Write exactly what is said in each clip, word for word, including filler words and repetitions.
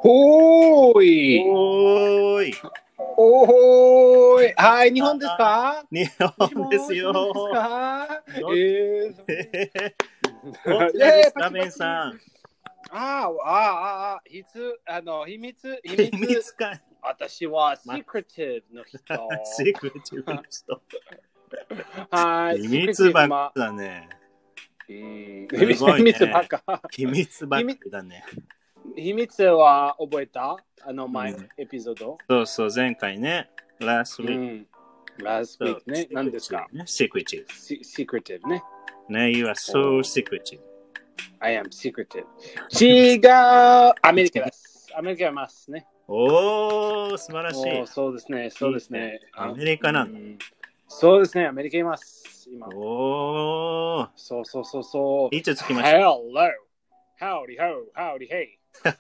ほーい。 おーい。 おーい。はい、日本ですか？ 日本ですよ。 日本ですか？ どえー、 どちらですか、ベンさん。 あーあー、あー、秘密、あの、秘密、秘密。 秘密か。 私はシークレティブの人。 シークレティブの人。 はい。 秘密ばっかだね。 秘すごいね密ばっか。 秘密ばっかだね。 秘密は覚えた？あの前、 うん、 エピソード。 そうそう、前回ね。last week、うん。 last week ね。何ですか？ secretive。 secretive ね。 ね、you are so secretive. I am secretive. 違う。アメリカです。アメリカいますね。 おー、素晴らしい。 そうですね、そうですね。 いいねアメリカなんだ、うん。 そうですね、アメリカいます。今。 おー。 そうそうそうそう。 いつ着きました？ Hello. Howdy ho. Howdy hey.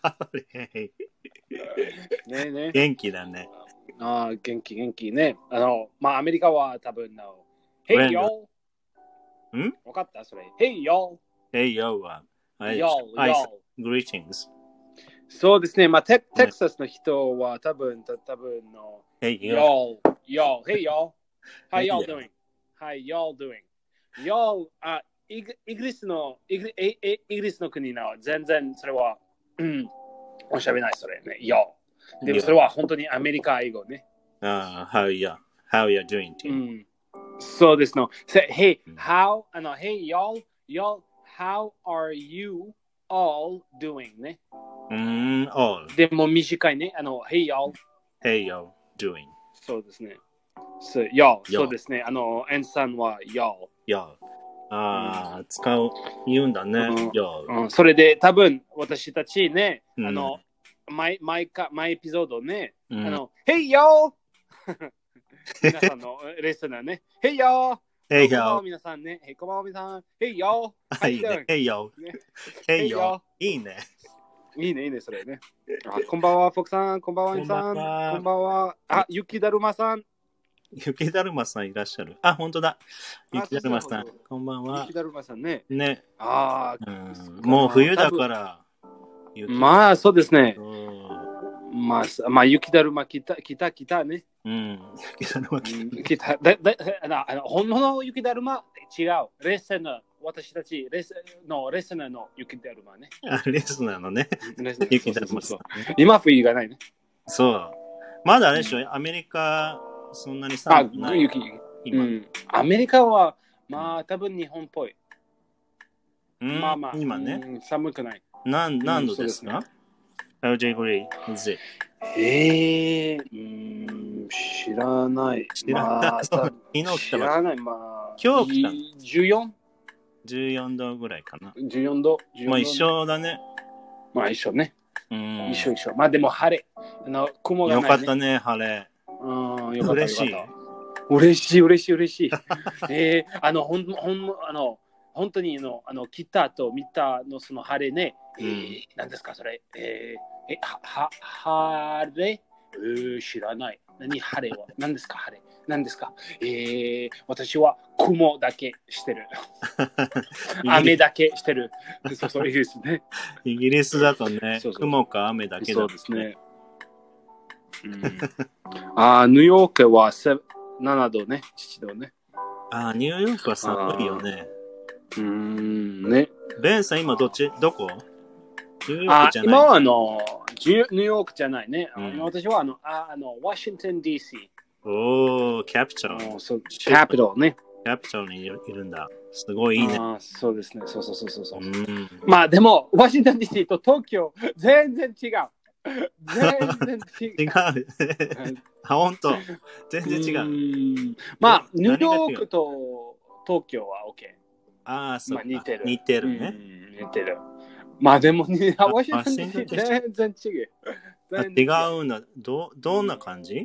ねえね。 元気だね。 ああ、元気元気ね。あの、まあ、アメリカは多分の。Hey yo! ん？ わかったそれ。Hey yo! Hey yo は。 Yo, yo. Greetings. そうですね。まあ、テ, テキサスの人は多分、多分の。 Hey yo! Yo! Hey yo! How y'all doing? How y'all doing? Y'all, あ、イギリスの、イギリイギリスの国の全然それは、うん、おしゃべりないそれね。Yo! でもそれは本当にアメリカ英語ね。 ああ、how ya, how ya doing? うん。そうですの。Hey, how, あの、Hey y'all, y'all, how are you all doing ね。 うん、all. でも短いね。あの、Hey y'all. Hey y'all, doing. そうですね。そう、y'all. そうですね。あの、エンさんは y'all. y'all. ああ、うん、使う、言うんだね。 うん、 y'all、 うん。それで多分私たちね、 うん、 あの、毎、毎か、毎エピソードね、 うん、 あの、Hey y'all! 皆さんのレッスンーね。Hey y'all! Hey y'all! こんばんは y'all! 皆さんね。Hey こんばんは皆さん。Hey y'all! How you doing? Hey y'all! Hey y'all! いいね。 いいね、いいね、それね。あ、こんばんは、フォクさん。こんばんは、インさん。こんばんは。あ、雪だるまさん。 雪だるまさんいらっしゃる。あ、本当だ。雪だるまさん。こんばんは。 雪だるまさんね。 ね。 ああ、 うん、もう冬だから。 まあ、そうですね。まあ、まあ、雪だるま来た、来た、来たね。 うん。雪だるま来た。だ、だ、あの、本物の雪だるま違う。レッスンの、私たち、レッスンの、レッスンの雪だるまね。 あ、レッスンなのね。雪だるまさん。 今冬がないね。 そう。まだあれでしょ、うん、アメリカ、そんなに寒くない。 あ、雪。今、うん。アメリカは、まあ、多分日本っぽい。 うん、まあまあ、今ね。 うん、寒くない。 何、何度ですか？ How degree is it? えー、うん、知らない。 知らない。まあ、昨日来た知らない。まあ、 今日来たのじゅうよん? じゅうよんどぐらいかな。 じゅうよんど。 まあ一緒だね。 まあ一緒ね。 うん。 一緒一緒。まあでも晴れ。あの雲がない、ね。 よかったね、晴れ。 うん、よかった。 嬉しい。 嬉しい、嬉しい、嬉しい。えー、あの、ほん、ほん、あの、本当にの、あの、来たと見たのその晴れね。えー、うん、何ですか、それ。えー、え、は、は、晴れえー、知らない。何晴れは何ですか、晴れ。何ですか。えー、私は雲だけしてる。雨だけしてる。そうそう、イギリスね。 イギリスだとね、そうそう雲か雨だけだ、ね。 そうですね。うん、あ、ニューヨークはななどね、ななどね。 あ、ニューヨークは寒いよね。 うーん、ね。 ベンさん、今どっちどこ？ ニューヨークじゃない。今はあの、ニューヨークじゃないね。うん、私はあの、ああの、ワシントン ディーシー。 おー、キャピタル。 キャピタルね。 キャピタルにいるんだ。すごいいいね。 あ、そうですね。そうそうそうそうそう。うん、まあでも、ワシントン ディーシー と東京、全然違う。全然違う。 違う。あ、本当。全然違う。 うまあ、ニューヨークと東京は OK。 ああ、そう、まあ、 似てる。 似てるね。 似てる。まあでも、ワシントン ディーシー 全然違う。 違うの。ど、どんな感じ？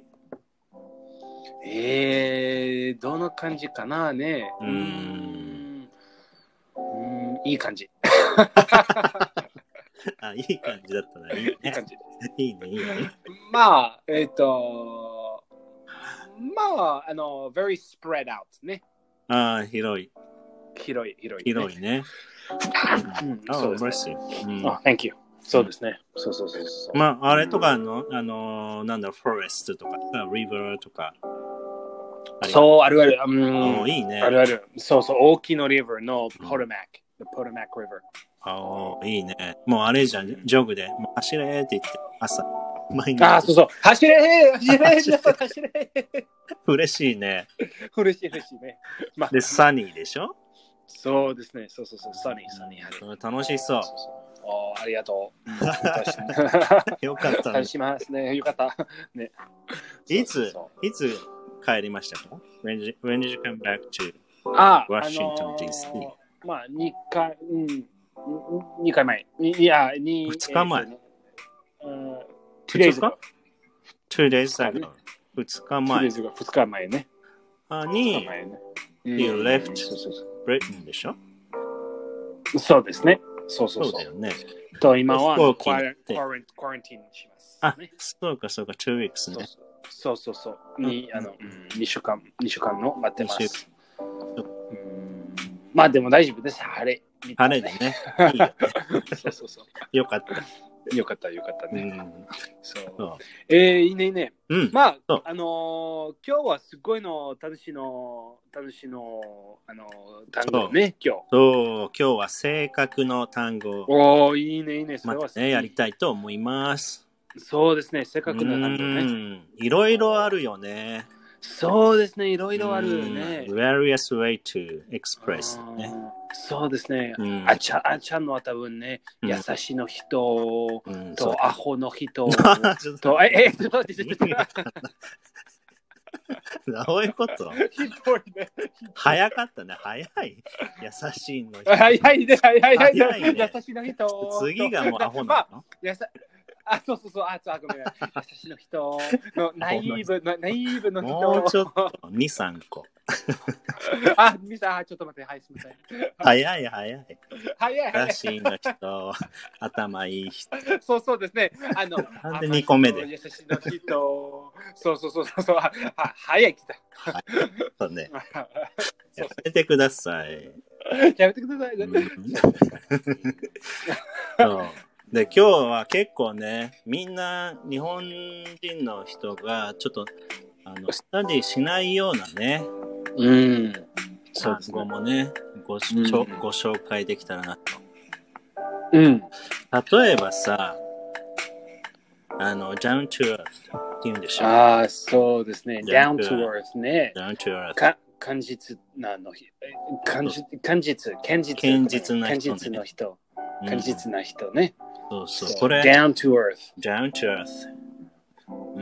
えー、どんな感じかなね。 うーん。 うん、いい感じ。 あ、いい感じだったらいいね。 いい感じ。 いいね、いいね。 まあ、えっと、まあ、あの、very spread out ね。 ああ、広い。 広い、広い、 ね。広いね。 うん、そうですね。 うん、 oh, thank you. そうですね。そうそうそうそう。 まあ、あれとかあの、あの、なんだろう、フォレストとか、リバーとか。 そう、あるある。うん、いいね。 あるある。そうそう、大きなリバーのポトマック。The Potomac River。 ああ、いいね。もうあれじゃん、ジョグで、もう走れって言って、朝、 毎日。ああ、そうそう。走れ走れ走れ走れ嬉しいね。 嬉しい嬉しいね。 まあ、で、サニーでしょ？ そうですね。そうそうそう。サニー、サニー。楽しそう。そうそうおありがとう。 よかったね。しますね。よかった。ね。 いつ、いつ帰りましたか？ When did you, when did you come back to あ、 Washington ディーシー？ あのー、まあ、にかい、うん、にかいまえ。いや、に、 ふつかまえ。 えーうん、ふつか ?two days ago。ふつかまえ。 ふつかまえね。 あ、に、You left Britain でしょ？ そうですね。そうそうそう。 そうだよね。 と、今は、クワランティーンします。 あ、そうかそうか、two weeks ね。 そうそうそう。に、あの、にしゅうかん、にしゅうかんの待ってます。まあでも大丈夫です。晴れ。 晴れでね。いいよね。 そうそうそう。 よかった。 よかったよかったね。うん、そう。 そうえー、いいねいいね。 うん、 まあ、あのー、今日はすごいの楽しいの、楽しいの、あのー、単語ね、今日。 そう、今日は性格の単語。 おー、いいねいいね。 それはまたね、やりたいと思います。 そうですね、性格の単語ね。 いろいろあるよね。 そうですね、いろいろあるね。 various way to express ね。 そうですね。あちゃん、あちゃんのは多分ね、優しいの人とアホの人と、え、え、ちょっと待って、ちょっと待って。 どういうこと早かったね、早い。優しいの人。 早いね、早い、早い、優しいの人。 次がもうアホなの？ あ、そうそうそう、あ、そう、ごめん。優しいの人の、ナイーブの、ナイーブの人。 もうちょっと、に、さんこ。 あ、みさん、ちょっと待って、はい、すみません。 早い、早い。 早い、早い。 優しいの人、頭いい人。 そうそうですね。あの、 なんでにこめで。 優しいの人。そうそうそうそう。は、早い、来た。 はい。そうね。やめてください。 やめてください。 そう。で、今日は結構ね、みんな日本人の人がちょっとあのスタディしないようなね、 うん、 単語もね、ご、うん、ご紹介できたらなと。 うん。 例えばさ、あの、down to earth って言うんでしょ。 ああ、そうですね。down to earth ね。 down to earth。 か感実なの日。感実、堅実、堅実。 堅実な人、ね。 堅実の人。堅実な人ね。 そうそう。これ。 down to earth。 down to earth。 うん、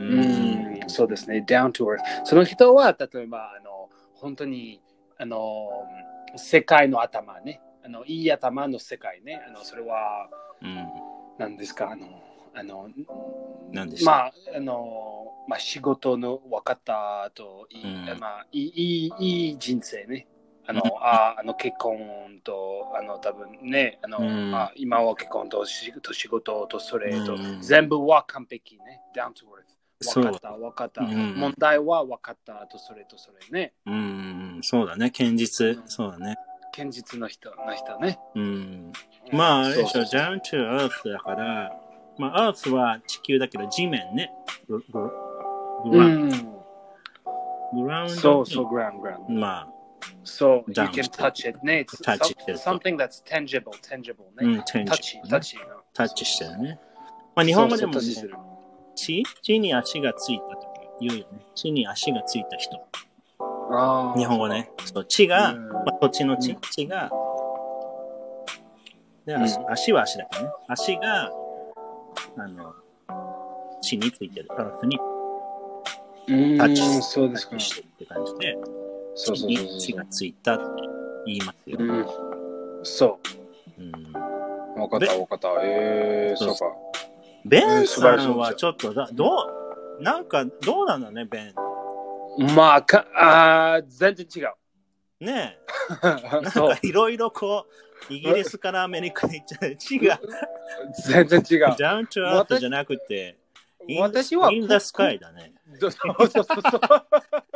そうですね。down to earth。その人は、例えば、あの、本当に、あの、世界の頭ね。あの、いい頭の世界ね。あの、それは、うん、何ですか、あの、あの、 何でしょう。 まあ、あの、まあ、仕事の分かったと、いい、うん、まあ、いい、いい、いい人生ね。あの、ああの結婚と、あの、多分ね、あの、うん、あ今は結婚と仕事とそれと、うん、全部は完璧ね。down to earth。分かった、分かった。うん、問題は分かったとそれとそれね。 うん、そうだね。堅実、うん、そうだね。 堅実の人、の人ね。 うん。まあ、あれでしょ、down to earth だから、まあ、earth は地球だけど、地面ね。グラウンド。グラウンド。 そうそう、グラウンド。 まあ。 So you can touch it ね。Touch it. Something that's tangible, tangible ね。うん、 tangible。 タッチ、タッチ。 タッチしてるね。まあ日本語でも、ね、地地に足がついたとか言うよね。地に足がついた人。 あ日本語ね。そう、地が、まあ、土地の地、地が、で、足、足は足だけどね。足が、あの、地についてる。アースにタッチしてるって感じで。 そうそうそうそう。 地がついたって言いますよ。 うん、そう。うん。分かった分かった。えー、そうか。 ベンさんはちょっとだ、どう、なんかどうなんだね、ベン。 まあ、かあ全然違う。 ねえ。なんかいろいろこう、イギリスからアメリカに行っちゃう。違う。 全然違う。 down to earth じゃなくて、 私は in the sky だね。 そうそうそうそう。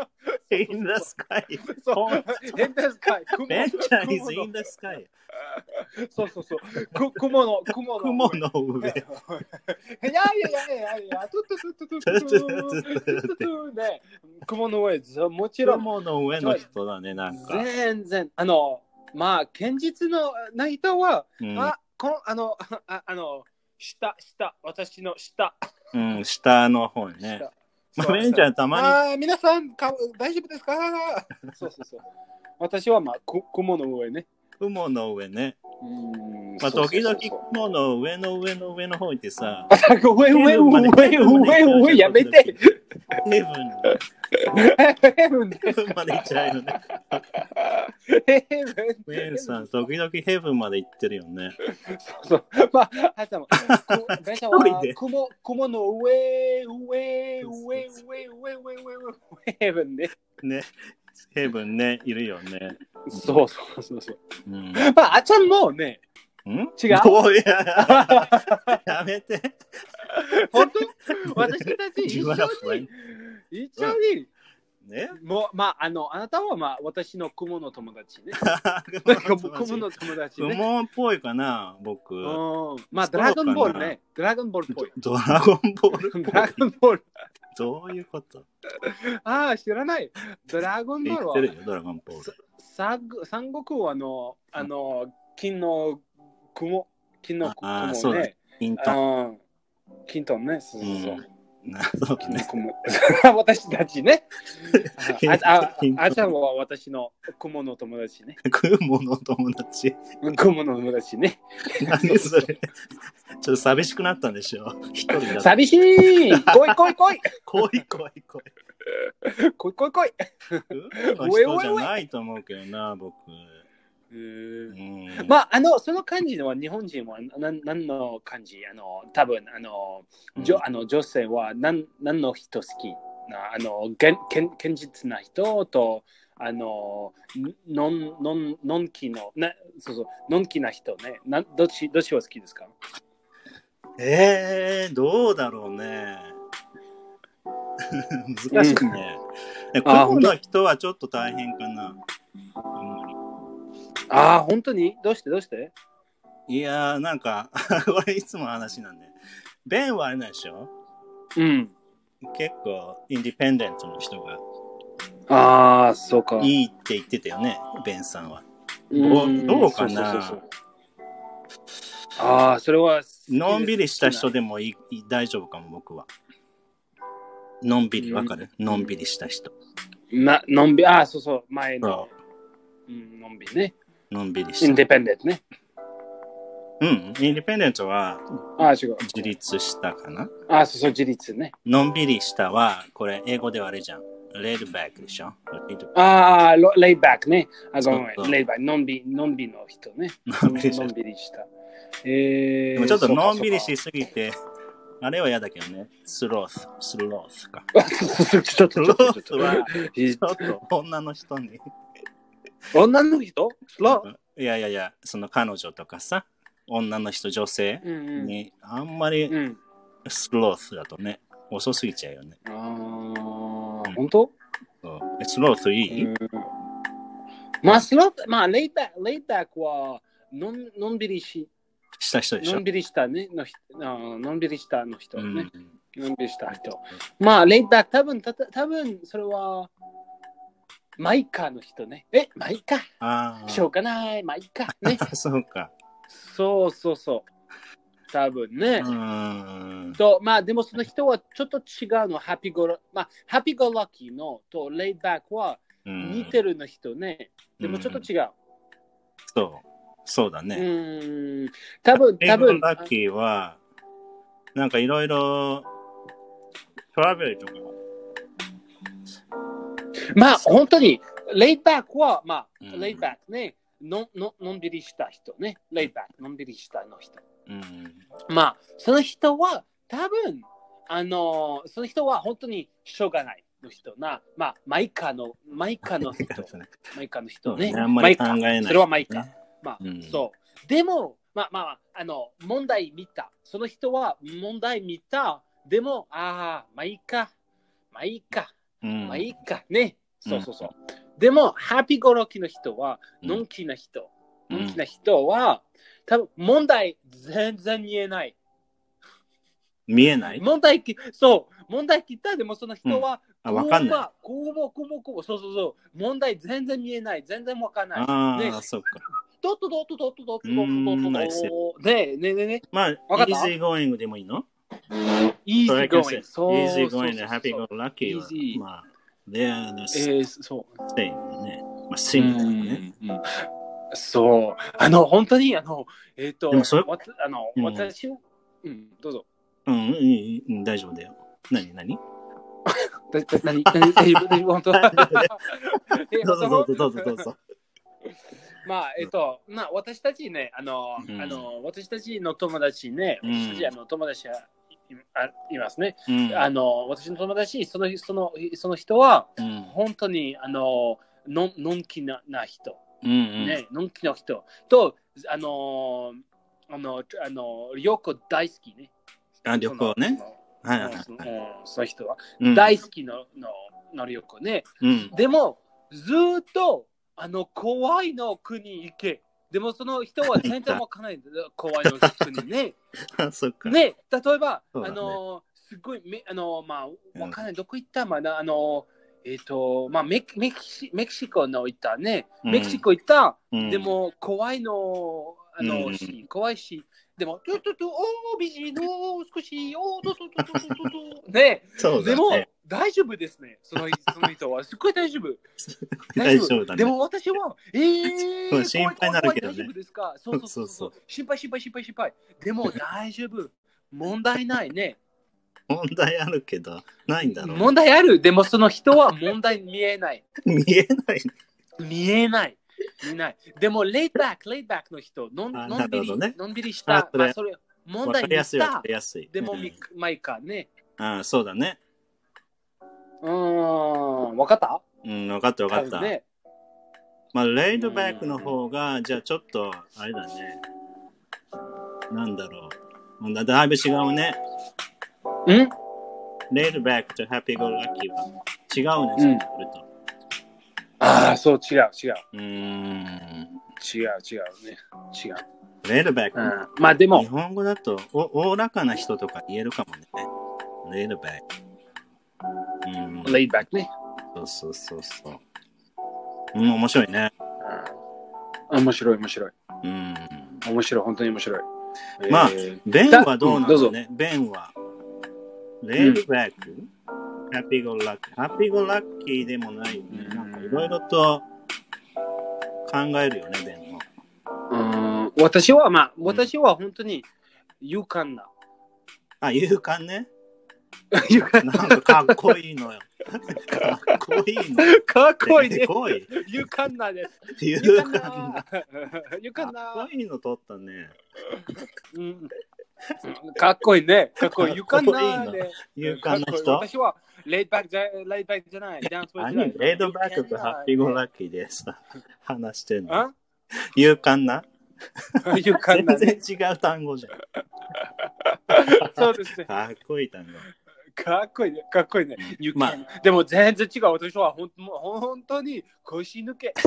in the sky. そう、in the sky。 ベンちゃん is in the sky。 そうそうそう。く雲の、雲の。 雲の上。 いやいやいやいやいや、トゥトゥトゥトゥトゥトゥトゥトゥね、雲の上、もちろん。 雲の上の人だね、なんか。 全然、あの、まあ、現実のな人は、 うん、 あ、こあの、ああの、下、下、私の下。 うん、下の方ね。まあ、ベンちゃんたまに。 あ、皆さんか、大丈夫ですか？そうそうそう。私はまあ、く雲の上ね。 雲の上ね。 うんまあ、時々雲の上の上の上の方行ってさ。 上上上上上やめて。 ヘブン。 ヘブン。 ヘブンまで行っちゃうよね。 ヘブン。 ベンさん、時々ヘブンまで行ってるよね。 そうそう。まあ、ハチさんも、ベンさんは雲、雲の上、上、上、上、上、上、上、上、ヘブンね。 ね。ヘブンね、いるよね。 そうそうそうそう。 うん、 まあ、あちゃんもね、 ん違うおいややめて。 本当私たち一緒に、一緒に、 ね、 もう、まあ、あの、あなたはまあ、私の雲の友達ね。雲の友達ね。 雲っぽいかな、僕。 まあ、ドラゴンボールね。ドラゴンボールっぽい。 ドラゴンボールドラゴンボール。 どういうこと？ ああ、知らない。ドラゴンボールは。 知ってるよ、ドラゴンボール。 三国はあの、あの、金の雲、金の雲ね。 ああ、そうだね。金と。 金とね、そうそうそう。 なるほどね。 私たちね。ああちゃんは私の雲の友達ね。 雲の友達。 雲の友達ね。 何それ。ちょっと寂しくなったんでしょ。一人だ。 寂しい。来い来い来い。 来い来い来い。 来い来い来い。 雲の人じゃないと思うけどな、僕。 うん、まあ、あの、その漢字は日本人は何何の漢字あの、多分あの、うん、じょあの女性は何何の人好きなあの、現現実な人と、あの、のん、のん、のんきの、なそうそう、のんきな人ね。などっち、どっちは好きですか？ えー、どうだろうね。難しいね。うん、雲の人はちょっと大変かな。あんまり。 ああ、本当にどうしてどうしていやー、なんか、これいつも話なんで。ベンはあれなんでしょ？ うん。 結構、インディペンデントの人が。 ああ、そうか。 いいって言ってたよね、ベンさんは。うんどうかなそうそうそうそうああ、それは。 のんびりした人でもいい大丈夫かも、僕は。のんびり、わかる、うん、のんびりした人。 な、のんびり、ああ、そうそう、前の。うん、のんびりね。 のんびりした。 インディペンデントね。 うん、インディペンデントはあ違う自立したかなあそうそう、自立ね。 のんびりしたは、これ英語ではあれじゃん。レイドバックでしょああ、レイドバックね。あ、ごめん、レイドバック。のんびり、のんびりの人ね。のんびりした。えー、 でもちょっとのんびりしすぎて、あれは嫌だけどね。スロース、スロースか。 ちょっと、ちょっと、ちょっと。 ちょっと女の人に。 女の人スローいやいやいや、その彼女とかさ、女の人、女性に、あんまりスロースだとね、遅すぎちゃうよね。 ああ、本当？ スロースいい？ まあ、スロース、まあ、レイバック、レイバックはのん、のんびりし、 した人でしょ？ のんびりしたね、ののんびりしたの人ね。のんびりした人。まあ、レイバック、多分、た多分それは、マイカの人ね。え、マイカ。 あしょうがない、マイカ。ね。 そうか。 そうそうそう。多分ね。 うんと、まあ、でもその人はちょっと違うの。ハピゴラ、まあ、ハピゴラッキーのとレイバックは似てるの人ね。でもちょっと違う。 そう。そうだね。 うん。多分、多分。 レイバッキーは、なんかいろいろ、トラベルとか。 まあ、本当に、レイバックは、まあ、うん、レイバックね。の, の, のんびりした人ね。レイバック、のんびりしたの人。 うん、 まあ、その人は多分、あのー、その人は本当にしょうがないの人な。まあ、マイカの、マイカの人。マイカの人ね。 あんまり考えない、ね。 それはマイカ。まあ、 うん、 そう。でも、まあまあ、あの、問題見た。その人は問題見た。でも、ああ、マイカ、マイカ、 うん、 マイカね。 そうそうそう。でも、ハッピーゴロキの人は、のんきな人。のんきな人は、多分問題全然見えない。 見えない問題き、そう、問題来たでもその人は、 うん、あ、わかんない。 こうもこうもこうも、そうそうそう、問題全然見えない、全然わかんない。 ああ、 ね、 そっか。 どっとどっとどっとどっとどっとどっとどっとねねねね。 まあ、イージーゴーイングでもいいの？ イージーゴーイング。 そう。イージーゴーイングでハッピーゴーラッキーは、まあ、they are the same ね。まあ、シンプルね。 そう。あの、本当に、あの、えっと、 でもそれあの、私を、うん、どうぞ。 うん、いい、大丈夫だよ。何、何何、何、大丈夫、本当どうぞどうぞどうぞどうぞ。 まあ、えっと、まあ、私たちね、あの、うん、あの私たちの友達ね、私たち、あの友達がいますね。うん、あの私の友達、そのそのその人は、うん、本当にあのののんきなな人、うんうんね、のんきな人と、あの、あの、あの旅行大好きね。 あ、旅行ね。 はいはいはい。その人は、うん、大好きののの旅行ね。うん、でも、ずっと、あの怖いの国行け。でもその人は全然わかんない。怖いの国ね。 そっか。 ね、例えば、ね、あの、すごい、めあの、まあ、わかんない。どこ行ったまだ、あの、えっ、ー、と、まあメキ、メキシ、メキシコの行ったね。メキシコ行った。うん、でも、怖いの、あの、うん、し、怖いし。でも、トゥトゥトゥ、おー、美人の少し、おー、トゥトゥトゥトゥトゥトゥ。ね。 そうだね。 でも、大丈夫ですね。そのその人は。すっごい大丈夫。 大丈夫だね。 でも私は、えー、 心配になるけどね。 大丈夫ですか？そうそうそうそう。心配心配心配心配。でも大丈夫。問題ないね。 問題あるけど、ないんだろう、ね。 問題ある。でもその人は問題見えない。 見えない見えない。見えない。でも、レイバック、レイバックの人、のんのんびり、ね、のんびりした。あ、まあ、それ、問題にした。でも、うん、まあいいかね。 ああ、そうだね。 うーん、わかった？ うん、わかったわかった。ね、まあ、レイドバックの方が、じゃあちょっと、あれだね。なんだろう。だいぶ違うね。 ん？ レイドバックとハッピーゴーラッキーは違うね、そうすると。 ああ、そう、違う、違う。 うーん。 違う、違うね。違う。 レイドバック、 うん。まあでも。 日本語だとお、おおらかな人とか言えるかもね。レイドバック。 うん。レイドバックね。 そうそうそうそう。うん、面白いね。 うん、面白い、面白い。 うん。 面白い、本当に面白い。 まあ、えー、ベンはどうなんだろうね。ベンは。レイドバック、うん、ハッピーゴーラッキー。ハッピーゴーラッキーでもないよね。なんかいろいろと考えるよね、ベンも。 うん、私は、まあ、私は本当に勇敢な。 あ、勇敢ね。なんかかっこいいのよ。かっこいいの。 かっこいいね。 すごい。 勇敢なです。 勇敢な。 勇敢な。 かっこいいの取ったね。 うん、かっこいいね。かっこいい。勇敢な、ね。 勇敢な人。 私はレイドバックじゃレイドバックじゃない。ダンスじゃない。 レイドバックとハッピーゴーラッキーでさ、話してんの。勇敢な。 勇敢な、 ね。全然違う単語じゃん。 そうですね。 かっこいい単語。 かっこいいね。かっこいいね。まあ、でも全然違う。私はほん本当に腰抜け。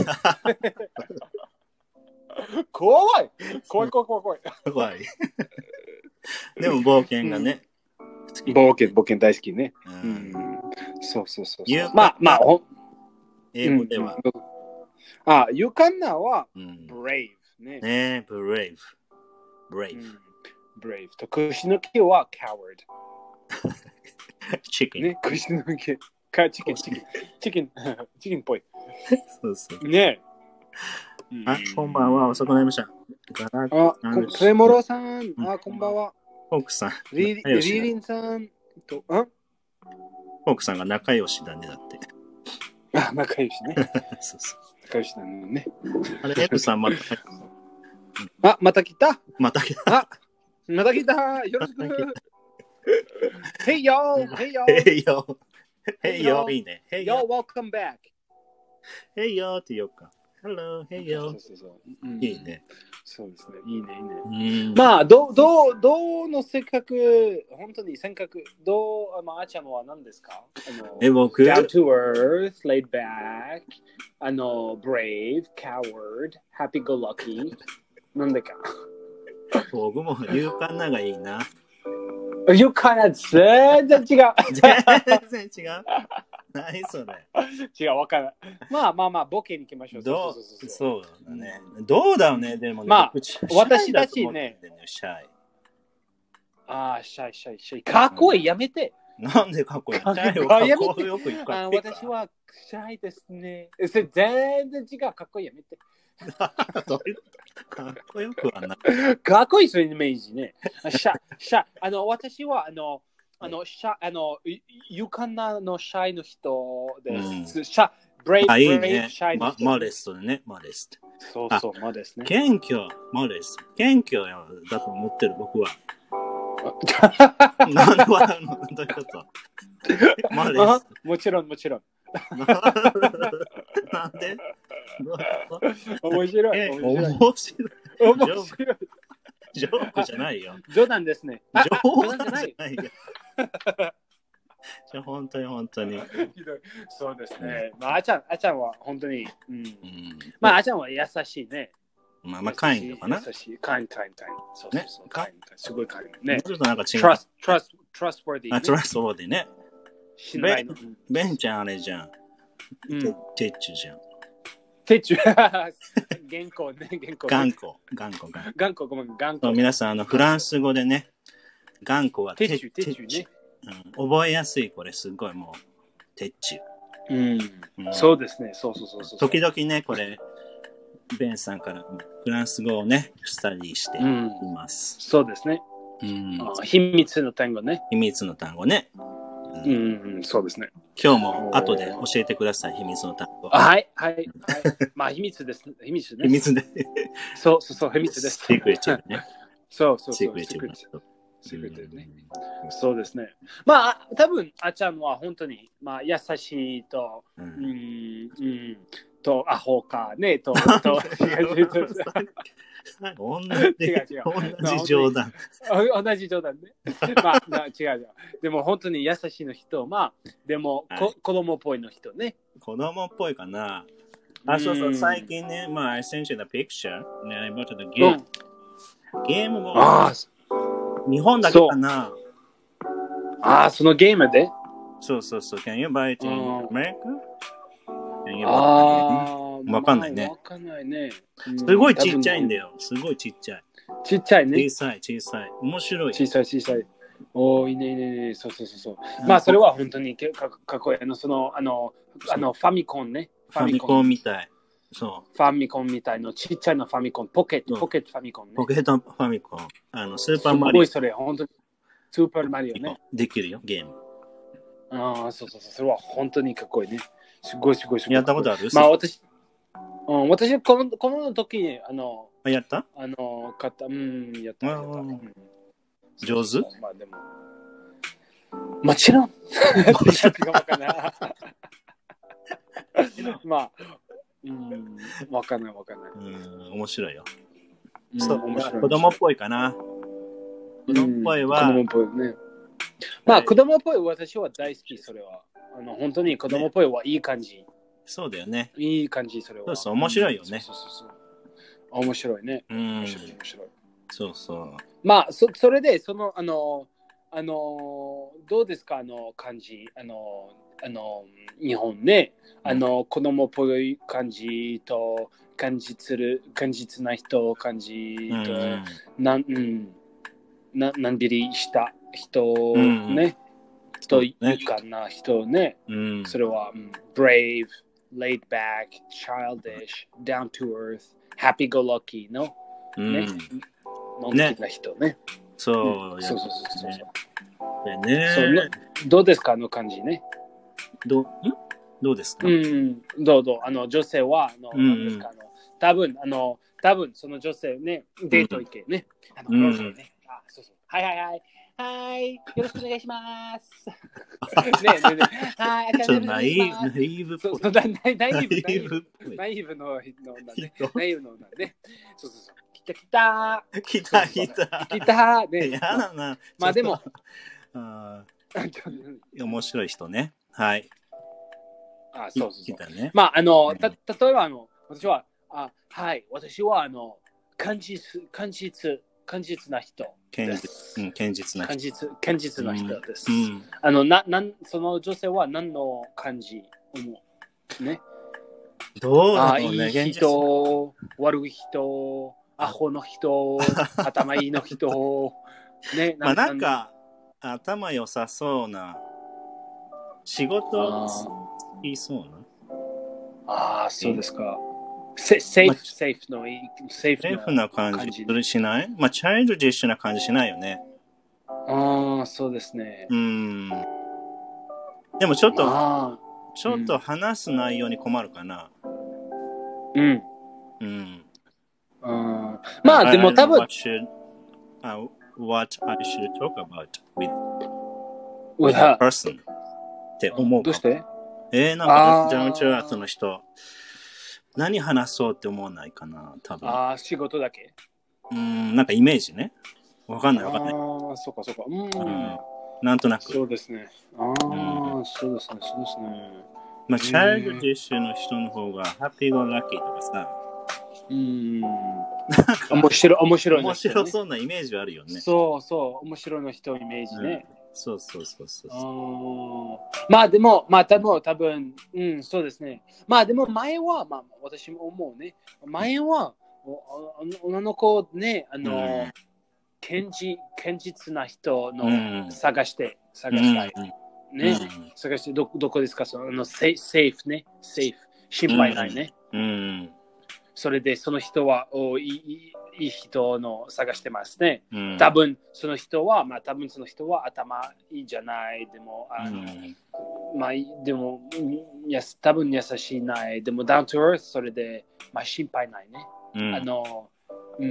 怖い。怖い怖い怖い怖い。 怖い。でも冒険がね。 うん、冒険、冒険大好きね。うん。そうそうそうそう。まあまあ、ほ英語では。 うん、あ、勇敢なは、brave、うん、ね。 ね、brave。brave。 brave。と、腰抜けは coward。 チキン。 ね、腰抜け。か、チキン、チキン。チキン、チキンっぽい。 そうそう。 ね。 あ、こんばんは。遅くなりました。 あ、プレモロさん。あ、こんばんは。 フォークさん。 リリリンさんと、あフォークさんが仲良しだね、だって。 あ、仲良しね。 そうそう。 仲良しだね。 あれ、エプさんまた。 あ、また来た。 また来た。 あ、また来た。よろしく。Hey yo! Hey yo! Hey yo! Hey yo! いいね。 Hey yo! Welcome back! Hey yo! って言おうか。 Hello, hey yo. そうそうそう、うん、 いいね。 そうですね。いいね、いいね。うん、 まあ、どう、どう、どうの性格、本当に性格、どう、まあ、あちゃんは何ですか？あの、 え、僕 down to earth, laid back, あの、brave, coward, happy go lucky。なんでか。 僕も勇敢ながいいな。 勇敢な、全然違う。 全然違う。何それ。 違う、わからない。まあまあまあ、ボケに行きましょう。 どうそうそうそうそう。 そうだね。どうだろうね、でもね。 まあ、私たたちね。 シャイ。 ああ、シャイ、シャイ、シャイ。かっこいい、やめて。 なんでかっこいいの？ かっこよく言うから。私はシャイですね。全然違う、かっこいい、やめて。 かっこよくはない。 かっこいい、そういうイメージね。シャイ、シャイ。あの、私は、あの、あの、シャあの、勇敢なのシャイの人です。うん、シャブレイブ、 いいね、 シャイの人。 マレストね、マレスト。 そうそう、マレスね。 謙虚、マレスト。謙虚だと思ってる、僕は。なんで笑うの？どういうことマレスト。 もちろん、もちろん。 なんで面白い。 面白い。 面白い。 ジョークじゃないよ。 冗談ですね。 冗談じゃないよ。じゃ本当に本当に。 そうですね。まあ、あちゃん、あちゃんは本当に、うんうん、まあ、あちゃんは優しいね。 まあ、まあ、カインドかな。 優しい。カイン、カイン、カイン。そうそうそう。カイン、すごいカイン。ね。 ちょっとなんか違う。 trust, trust, trustworthy。 あ、trustworthy ね。 ベン、 ベンちゃんあれじゃん。テッチュじゃん。 テッチュ。原稿ね、原稿。 頑固、頑固、 頑固、ごめん、頑固。 皆さん、あの、フランス語でね、頑固はテッチュ、テッチュね。 うん、覚えやすい、これ、すごいもう、テッチュ。うん。うん、そうですね、そうそうそうそう。 時々ね、これ、ベンさんからフランス語をね、スタディしています。 うん、そうですね。うん、秘密の単語ね。 秘密の単語ね。 うん、うん、そうですね。 今日も後で教えてください、秘密の単語。 はい、はい、はい。まあ、秘密です。秘密です。 秘密で。 そうそうそう、秘密です。 シークレットね。 そうそうそう。 シークレット。 シークレットね。そうですね。まあ、多分、あちゃんは本当に、まあ、優しいと、うん、うん、と、アホか、ね、と、と、違う違う違う。 同じ、違う違う同じ冗談。 同じ冗談ね。まあ、違う違う。でも本当に優しいの人、まあ、でも、はい、こ子供っぽいの人ね。 子供っぽいかな。あ、そうそう、最近ね、まあ、I sent you the picture. ね、I bought the game. ゲームも、日本だけかな。 ああ、そのゲームでそうそうそう。Can you buy it in America? ああ。 わかんないね。 わかんないね。 すごいちっちゃいんだよ。すごいちっちゃい。 ちっちゃいね。 小さい、小さい。面白い。 小さい、小さい。おー、いいね、いいね、いいね。そうそうそうそう。まあ、それは本当にかかっこいい。あの、その、あの、あの、ファミコンね。 ファミコンみたい。そう。 ファミコンみたいの、ちっちゃいのファミコン、ポケット、ポケットファミコンね。 ポケットファミコン。あの、スーパーマリオ。 すごいそれ、本当に。スーパーマリオね。 できるよ、ゲーム。 ああ、そうそうそう。それは本当にかっこいいね。すごいすごいすごい。 やったことある？ まあ、私、うん、私はこの、この時に、あの、 あ、やったあの、買った、うん、やった。やったうん、 上手まあでも、もちろん。まあ、うん、わかんないわかんない。 うん、面白いよ。 うん、 そう、 面白い。 子供っぽいかな。子供っぽいは、 うん、子供っぽいね。まあ、子供っぽい私は大好き、それは。あの、本当に子供っぽいはいい感じ。ね、 そうだよね。 いい感じ、それは。 そうそう、面白いよね。 そうそうそう。面白いね。 うん。 面白い、面白い。 そうそう。 まあ、そ, それで、その、あの、あの、どうですか、あの、感じ、あの、あの、日本ね、あの、子供っぽい感じと、感じする、感実な人、感じと、うん、なん、うん、な、なんびりした人、ね、うん、というかな人ね、うん、それは、うん、brave, laid back, childish, down to earth, happy go lucky の、うん、ね、のんきな人ね。 そう、 うん、そうそうそうそう。 ね、 そうのどうですかあの感じね。 どう、んどうですか？ うん、どうどうあの女性はあの、うん、何ですかあの多分あの多分その女性ねデート行けね、うん、あの、うん、ねあそうそうはいはいはい。はい、よろしくお願いします。ねえねえねえ。はい、 ちょっとナイーブ、ナイーブっぽい。 そうそう、ナイーブ、ナイーブ、ナイーブののね、ナイーブのね。そうそうそう。来た来た。 来た来た。 来た。ね。 やだな。 まあでも、 あ面白い人ね。はい。 あ、そうそうそう。 来たね。 まあ、あの、た、例えば、あの、私は、あ、はい、私は、あの、堅実、堅実、堅実な人です。 うん、堅実な人。 堅実、堅実な人です。 うん、 あの、な、なん、その女性は何の感じ思うね。 どうだろうね。 あ、いい人、悪い人、アホの人、頭いいの人、ね。 まあなんか、頭良さそうな、仕事いいそうな。 ああ、そうですか。セーフ、セーフのいい、セーフな感じするしない？まあ、チャイルドディッシュな感じしないよね。 ああ、そうですね。 うん。でもちょっと、ちょっと話す内容に困るかな。 うん。 うん。 まあ、でも多分。 What should, uh, what I should talk about with, with a person って思うか。 どうして？ えー、なんか、ダウンチュアートの人、何話そうって思わないかな、多分。 ああ、仕事だけ。 うん、なんかイメージね。わかんないわかんない。 ああ、そうかそうか。うん。 なんとなく。 そうですね。ああ、そうですね、そうですね。 まあ、チャイルドディッシュの人の方が、ハッピーゴーラッキーとかさ。 うん。面白い、面白い。 面白そうなイメージはあるよね。 そうそう、面白いの人イメージね。 そうそうそうそう。 まあでも、まあ多分、多分、うん、そうですね。まあでも前は、まあ私も思うね。前は、女の子ね、あの、堅実、堅実な人の探して、探したい。ね、探して、ど、どこですか、その、セーフね、セーフ、心配ないね。それで、その人は、おいいいい人の探してますね。うん、多分その人は、まあ多分その人は頭いいんじゃない。でも、あの、うん、まあでも、や多分優しいない。でも、ダウントゥーエース、それで、まあ心配ないね。うん、あの、うん、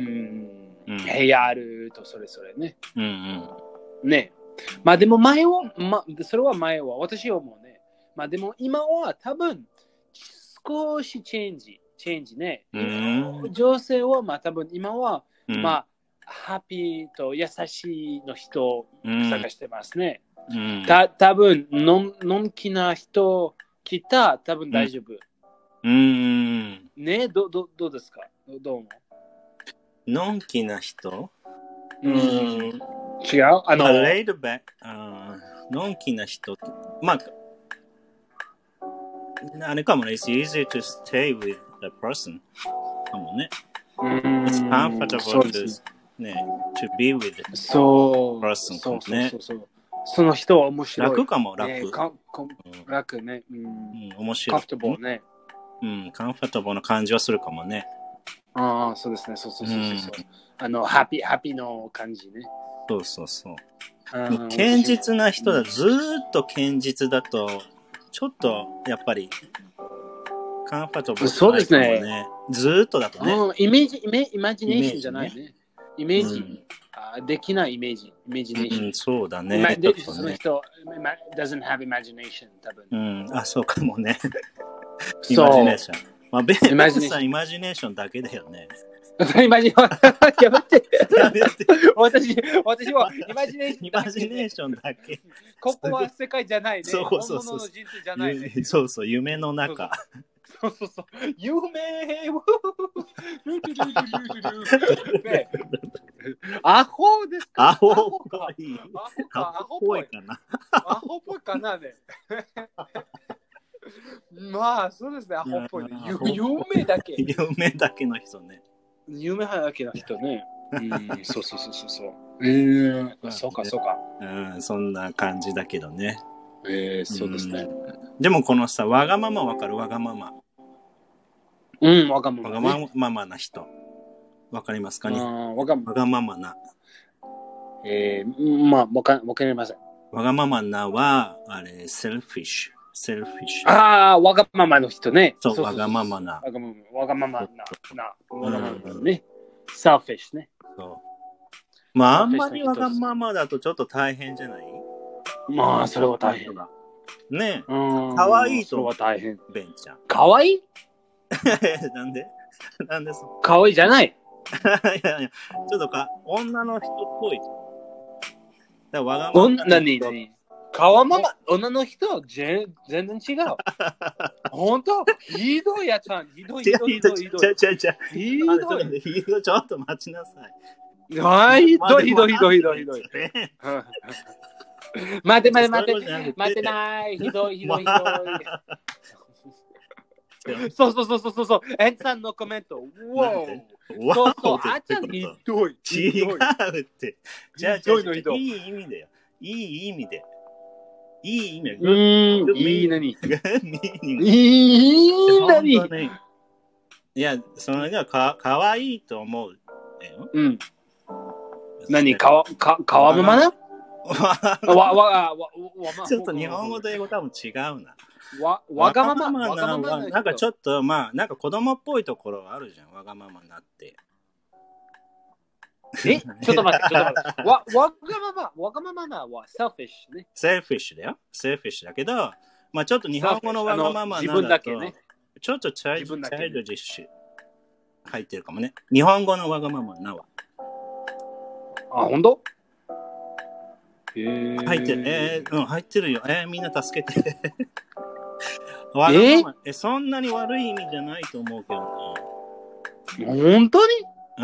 うん、部屋あるとそれぞれね。うんうん、ね。まあでも前は、まあ、それは前は、私はもうね。まあでも今は多分、少しチェンジ。チェンジね。うん、女性は、まあ多分今は、うん、まあ、ハッピーと優しいの人を探してますね。うん、た多分ののんきな人来た多分大丈夫。うん、ねどどどうですかどどう思うのんきな人、 うん、違うあの、 レイドバック、のんきな人まあ、あれかもね、it's easy to stay with the person かもね。It's comfortable to, ね、to be with the person かもね。そうそうそうそう。 その人は面白い。 楽かも、楽。 ね、かか楽ね、うん。うん、 面白い。 comfortable ね。 うん、comfortable な感じはするかもね。 ああ、そうですね。そうそうそうそう。うん、あの、ハッピー、ハッピーの感じね。 そうそうそう。堅実な人だ、ずーっと堅実だと、ちょっと、やっぱり、カンファトブル、ね、 そうですね。 ずーっとだとね。 イメージ、イメイマジネーションじゃないね。イメージ、うん、あできないイメージ、イメージネーション。 うん、そうだね。 ねその人、doesn't have imagination、多分。 うん、あ、そうかもね。イマジネーション。まあ、ベンさん、イマジネーションだけだよね。 イマジやめて。やめて。私、私はイマジネーション。 イマジネーションだけ。 ここは世界じゃないね。 そうそうそう。 本物の人生じゃないね。 そうそう、夢の中。 そうそうそう。夢ね、アホですかアホっぽい。 アホっぽいかな。アホっぽいかなね。まあ、そうですね。アホっぽいね。夢だけ。 夢だけの人ね。 夢だけの人ね。うん、そうそうそうそう。えー、そうかそうか。 うん、そんな感じだけどね。 えー、そうですね。 でもこのさ、わがままわかるわがまま。 うん、わがまま、 ね。わがままな人。わかりますかね。 わがわがままな。 えー、まあ、わか、わかりません。 わがままなは、あれ、セルフィッシュ。セルフィッシュ。 ああ、わがままの人ね。 そう、そうそうそうわがままな。 わがままな。な。わがままな。ね。セルフィッシュね。 そまあ、あんまりわがままだとちょっと大変じゃない？ まあ、それは大変だ。 ねえ。かわいいと。 それは大変。 ベンちゃん。 かわいいなんでなんでそかわいいじゃない。 いやいや、ちょっとか、女の人っぽい。だわがまま。 女に、かわまま、女の人、全然違う。ほんとひどいやつゃん。ひどい、ひどい、ひどい。ひどい。ひどい。 ひどい。ちょっと待ちなさい。 はい、ひどい、ひどい、ひどい、ひどい、ひどい。待て待て待て、待てない。ひどい、ひどい、ひどい。そうそうそうそうそう。エンさんのコメント。わお。そうそう。あっちゃんひどい。 違うって。じゃあ、 ひどいのひどい。 いい意味だよ。いい意味で。いい意味で。 うーん、いいなに。いいなに。 いや、それがかかわいいと思う。 うん。何かわ、か、かわままなわ、わ、わ、わ、 ちょっと日本語と英語多分違うな。 わ、わがまま、 わがままな、なんかちょっと、まあ、なんか子供っぽいところあるじゃん。わがままになって。 えちょっと待って、ちょっと待って。わ、わがまま、わがままなは selfish ね。 selfish だよ。selfish だけど、まあちょっと日本語のわがままな自分だけね。 ちょっとチャイルドディッシュ入ってるかもね。日本語のわがままなは。 あ、ほんと？ 入ってる。えー、うん、入ってるよ。えー、みんな助けて。わがまま、え、そんなに悪い意味じゃないと思うけどな。本当に？ うん、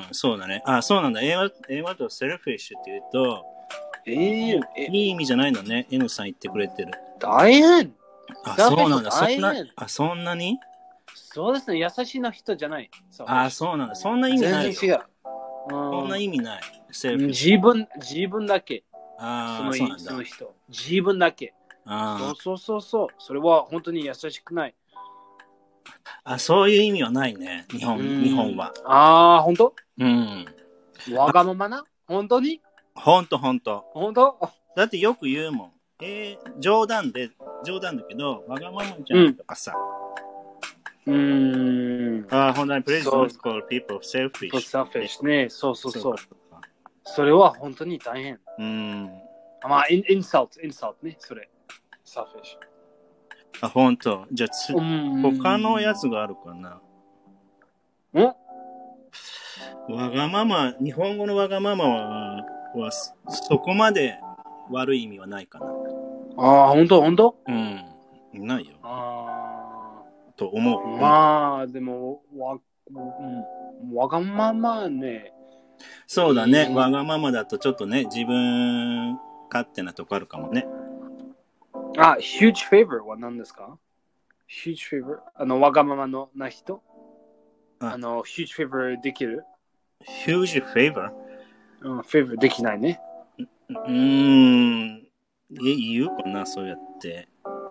そうだね。あ、そうなんだ。英語、英語とセルフィッシュって言うと、 えー、 いい意味じゃないのね。N さん言ってくれてる。 大変。 あ、そうなんだ。そんな、あ、そんなに？ そうですね。優しいな人じゃない。 あ、そうなんだ。そんな意味ない。 全然違う。 そんな意味ない。 自分、自分だけ。 あそのそうなんだその人。自分だけ。あそうそうそうそう。それは本当に優しくない。 あ、そういう意味はないね。日本、日本は。 ああ、本当？ うん。 わがままな？本当に？ 本当本当。 本当？ だってよく言うもん。えー、冗談で、冗談だけど、わがままじゃんとかさ。 うーん。 ああ、本当に、please don't call people selfish. selfish ね。そうそうそう。それは本当に大変。 うん。 まあ、イン、インサルト、インサルトね。それ。selfish。 あ、本当。じゃあつ、他のやつがあるかな。 ん？ わがまま、日本語のわがままは、はそこまで悪い意味はないかな。 ああ、本当本当？ うん。ないよ。 ああ。と思う。 まあ、でも、わ、うん、わがままね。 そうだね。わがままだとちょっとね、自分勝手なとこあるかもね。 あ、huge favor は何ですか？ huge favor？ あの、わがままのな人？あ, あの、huge favor できる？ huge favor？ うん、favor できないね。 うーん。言うかな、そうやって。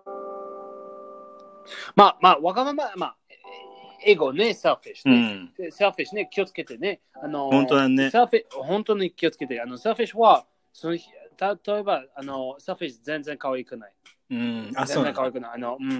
まあ、まあ、わがまま、まあ、エゴね、selfish ね。うん、selfish ね、気をつけてね。あの、 本当だね。 selfish、本当に気をつけて。あの、selfish は、その例えば、あの、selfish 全然可愛くない。 うん、あ、 全然可愛くない。あの、うん、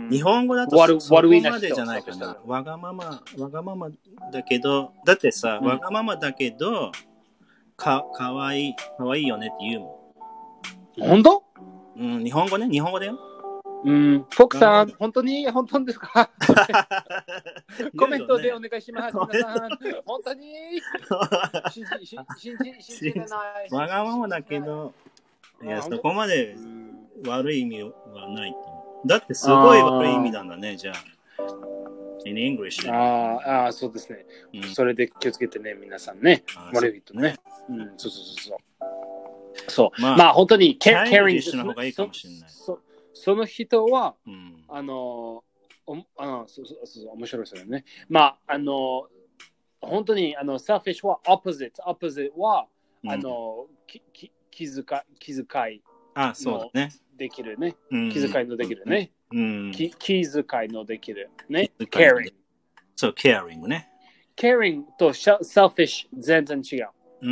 日本語だと悪そこ悪いなまでじゃないかな。わがまま、わがままだけど、だってさ、うん、わがままだけど、か、かわいい、かわいいよねって言うもん。本当？ うん、日本語ね、日本語だよ。 うん、フォクさん、本当に、本当ですか？コメントでお願いします。皆さん、本当に信じ、信じ、信じれない。 わがままだけど、いや、そこまで悪い意味はないと思う。だってすごい悪い意味なんだね、じゃあ。in English ね。 ああ、そうですね、うん。それで気をつけてね、皆さんね。悪い人ね。うん、そうそうそうそう。そう。まあ、まあ、本当に、 キャリングの方がいいかもしれない。 そ, その人は、 うん、 あの、おあのそうそうそう、面白いですよね。まあ、あの、本当に、あの、selfish は opposite。opposite は、うん、あの、きき気遣い、気遣いのできるね。 うん、 気遣いのできるね。 うん、 気気遣いのできるね。caring。 そう、caring ね。 caring と selfish 全然違う。 うん。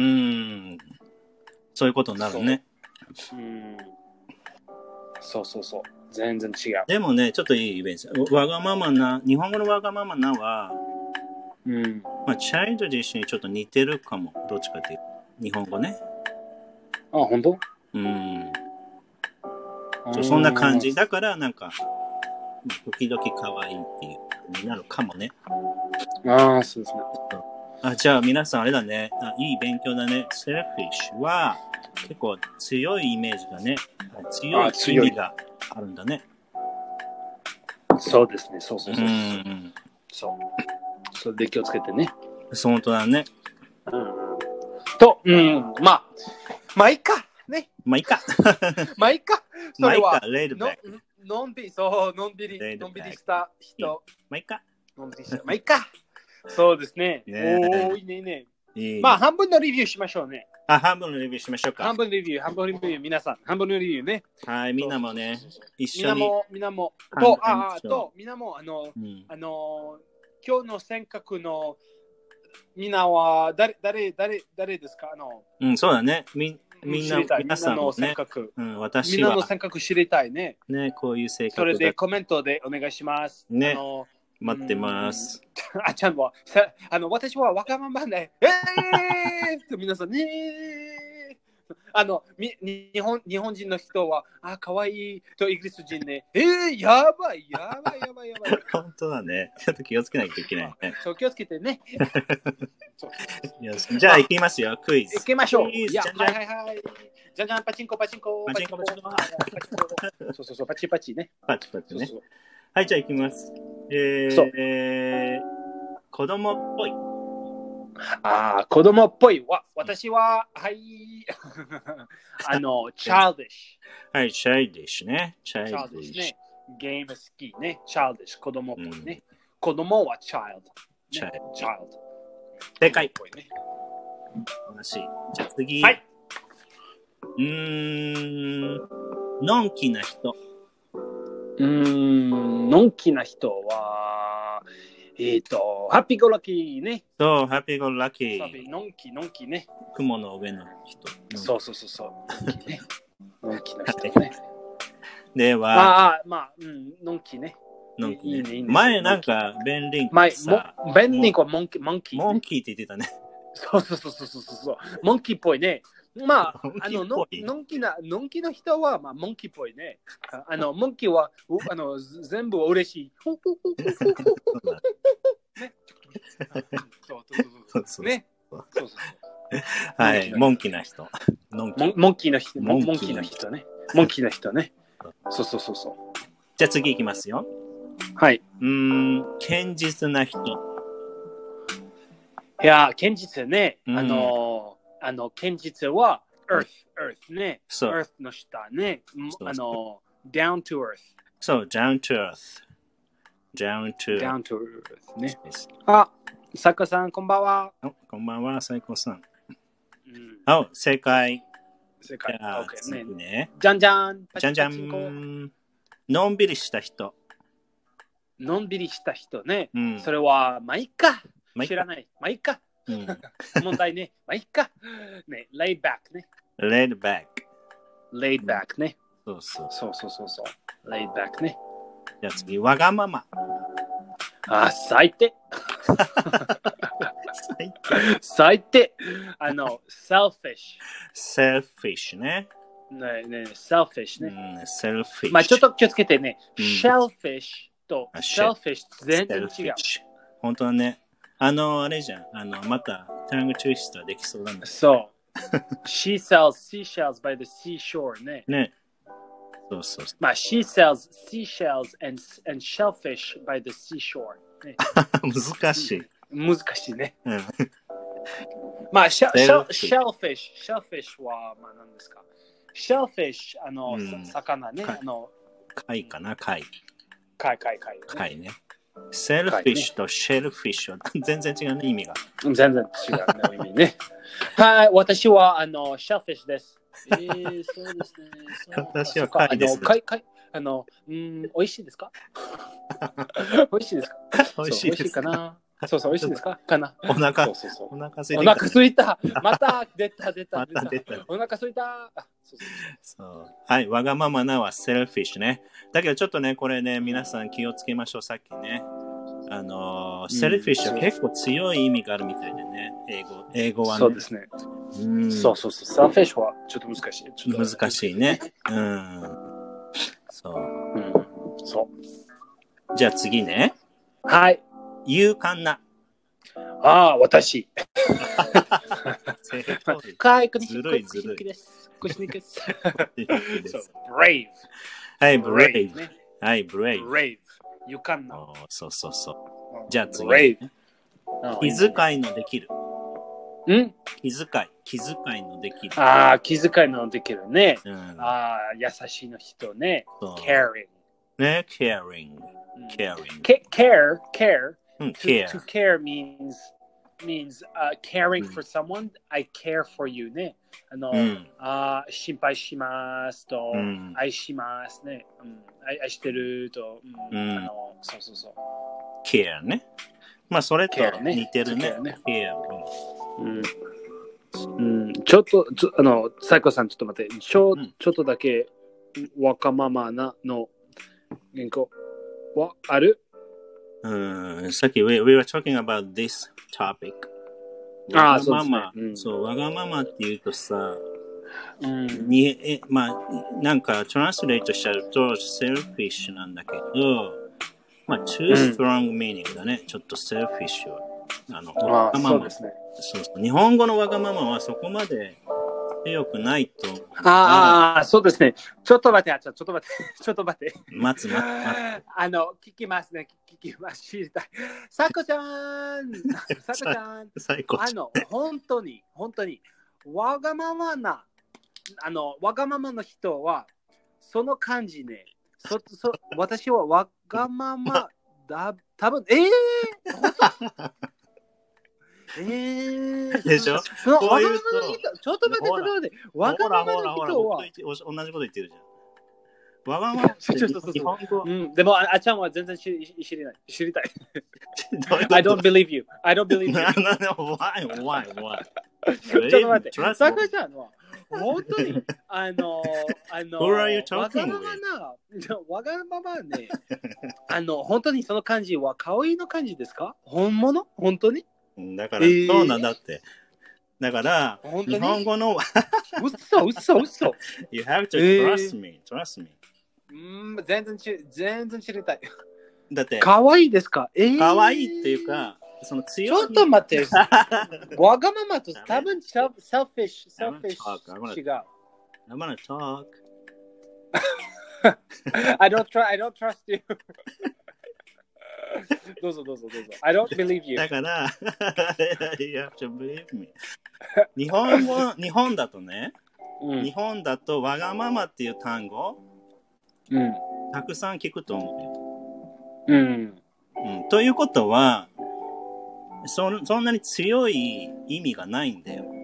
そういうことになるね。 そう、うん、そうそうそう。全然違う。 でもね、ちょっといいイベント。わがままな、日本語のわがままなは、 うん、 まあ、チャイルド自身にちょっと似てるかも。どっちかっていうと。 日本語ね。 あ、本当？ うん。そんな感じ。だから、なんか、時々可愛いっていう風になるかもね。 ああ、そうですね。 あ、じゃあ皆さんあれだね。あ、いい勉強だね。セルフィッシュは結構強いイメージだね。強い意味があるんだね。 そうですね。そうそうそう。 うんそう。それで気をつけてね。 そう、本当だね。 うん。と、うん、まあ、まあいいか。ね。 まあいいか。 まあいいか。それは、 まあいいか、レイドバック。 のんびり、そう、のんびり、のんびりした人。 まあいいか。 のんびりした。まあいいか。そうですね。 ねおー、いいね、いいね。 いいまあ、半分のレビューしましょうね。 あ、半分のレビューしましょうか。 半分レビュー、半分レビュー、皆さん、半分のレビューね。 はい、みんなもね、一緒に。 みんなも、みんなも、と、あ、と、みんなも、あの、うん、あの、今日の尖閣の、みんなは誰、誰、誰、誰ですか？あの、 うん、そうだね。みみんな、皆さんもね、うん、私は。 みんなの尖閣知りたいね。 ね、こういう性格。 それでコメントでお願いします。 ね。あの待ってます。 あちゃんは、あの、私はわがままで、えー皆さんねあの、み日本、日本人の人は、あ、かわいいとイギリス人ね、えー、やばい、やばい、やばい、やばい。 本当だね。ちょっと気をつけないといけないね。 そう、気をつけてね。 よしじゃあ、行きますよ、クイズ。 行きましょう。いや、はいはいはい。じゃんじゃん、パチンコ、パチンコ、 パチンコ、パチンコ。 そうそうそう、パチパチね。 パチパチね。はい、じゃあ行きます。えー、えー、子供っぽい。 ああ、子供っぽい。わ、私は、はい。あの、childish。 はい、childish ね。 childish ね。ゲーム好きね。childish、子供っぽいね。うん、子供は child。 child。 child。 正解。楽しい。じゃあ次。はい。うーん、のんきな人。 うーん、のんきな人は、えっ、ー、と、ハッピーゴラッキーね。 そう、ハッピーゴラッキー。 のんき、のんきね。 雲の上の人。 そうそうそうそう。のんきね。のんきな人ね。 では、 ああ、まあ、うん、のんきね。 のんき、ねいいねいいね。前なんか、ベンリンクさ。ベンリンクはモンキー、モンキー、 ね。モンキーって言ってたね。 そうそうそうそうそうそう。モンキーっぽいね。まあ、あのの、のんきな、のんきな人は、まあ、モンキーっぽいね。あの、モンキーは、あの、全部嬉しい。ね。そうそうそう。ね。そうそうそう。 はい、モンキーな人。 モンキーな人。モンキーな人ね。モンキーな人ね。そうそうそうそう。 じゃあ次いきますよ。 はい。 うーん、堅実な人。 いや、堅実ね。あの、あの、堅実は、earth、earth ね。earth の下ね。あの、down to earth。 そう、down to earth。down to down to earth ね。あ、サコさん、こんばんは。 こんばんは、サイコさん。あ、正解。 正解。 じゃあ、次ね。 じゃんじゃん。 じゃんじゃん。のんびりした人。 のんびりした人ね。それは、まあいっか。知らない。まあいっか。問題ね。まあいっか。ね、laid back ね。 laid back。 laid back ね。 そうそう。 そうそうそうそう。laid back ね。 じゃあ次、わがまま。 あ、最低。最低。あの、selfish。 selfish ね。 ねね、selfish ね。 うん、selfish。 まあちょっと気をつけてね。shellfish と selfish 全然違う。 本当はね。あの、あれじゃん。あの、また、タングツイスターできそうだね。 そう。She sells seashells by the seashore ね。 ね。そうそうそう。 まあ、she sells seashells and, and shellfish by the seashore、ね。 難しい。 難しいね。まあ、シェシェシェルフィッシュ。シェルフィッシュは、まあ、何ですか？シェルフィッシュ、あの、うん、魚ね。あの貝かな、貝。 貝、貝、貝、ね。 貝ね。セルフィッシュとシェルフィッシュは全然違うね、意味が。 全然違うね、意味ね。はい、私は、あの、シェルフィッシュです。えー、そうですね。 私は貝です。 貝、貝、あの、うん、美味しいですか？美味しいですか？ 美味しいですかな。そうそう、美味しいですかかな。 お腹、 そうそうそうお腹すいた。 お腹すいた。また出た、出た、 また出た。 お腹すいた。 そうそうそうはい、わがままなはセルフィッシュね。だけどちょっとね、これね、皆さん気をつけましょう、さっきね。 あの、セルフィッシュは結構強い意味があるみたいでね、英語、英語はね。 そうですね。うん、そうそうそう。セルフィッシュはちょっと難しい。ちょっと難しいね。うん。そう。 うん、そう。 じゃあ次ね。 はい。 勇敢な。 ああ、私。 はい、ずるいずるい。 そう、brave。 はい、brave。はい、brave。 brave。勇敢な。 そうそうそう。じゃあ次、 brave。 気遣いのできる。 ん気遣い。気遣いのできる。 ああ、気遣いのできるね。うん、ああ、優しいの人ね。caring。 ね、caring。caring。 care, care. To, care. to care means means uh, caring for someone. I care for you ね。あの、うん、あ心配しますと、うん、愛しますね。うん、愛, 愛してると、うんうん、あの、そうそうそう。 care ね。まあそれと似てるね。care ね。care うん、うん。ちょっとちょあのサイコさんちょっと待って。ちょ、うん、ちょっとだけわがままなの原稿はある？ うん、さっき we, we were talking about this topic。わがまま、そう、ねうん、そう、わがままって言うとさ、うん、にえまあ、なんかトランスレートしちゃうとセルフィッシュなんだけど、まあ、too strong meaning だね、うん、ちょっとセルフィッシュは。あの、わがまま。そうですね。そうそう。日本語のわがままはそこまで強くないと。 ああ、そうですね。ちょっと待って、あちょっと待って、ちょっと待って。 待つ待つ待つ。 あの、聞きますね、聞きます。知りたい。さこちゃん、さこちゃん。あの、本当に、本当に、わがままな、あの、わがままの人は、その感じね。そそ私はわがままだ、多分えー、えー、 でしょそのわがままの人、ちょっと待って、ちょっと待って、わがままの人は、 同じこと言ってるじゃん。わがままって日本語。 うん、でもあ、あちゃんは全然知り知りない。知りたい。I don't believe you. I don't believe you. Why? Why? Why? ちょっと待って、さくちゃんは、本当に、あの、あの、わがままな、わがままね、あの、本当にその感じは、可愛いの感じですか？本物？本当に？ だから、そうなんだって。だから、日本語の、 嘘、嘘、嘘。 You have to trust me, trust me. うん、全然知、全然知りたい。 だって、 可愛いですか？えー、 可愛いっていうか、その強い。 ちょっと待って。わがままと多分セルフィッシュ、セルフィッシュ違う。 I'm gonna talk. I don't try, I don't trust you. どうぞどうぞどうぞ。I don't believe you. だから、you have to believe me. 日本語、日本だとね、うん、日本だとわがままっていう単語、うん、たくさん聞くと思うよ。うんうん、ということはそ、そんなに強い意味がないんだよ。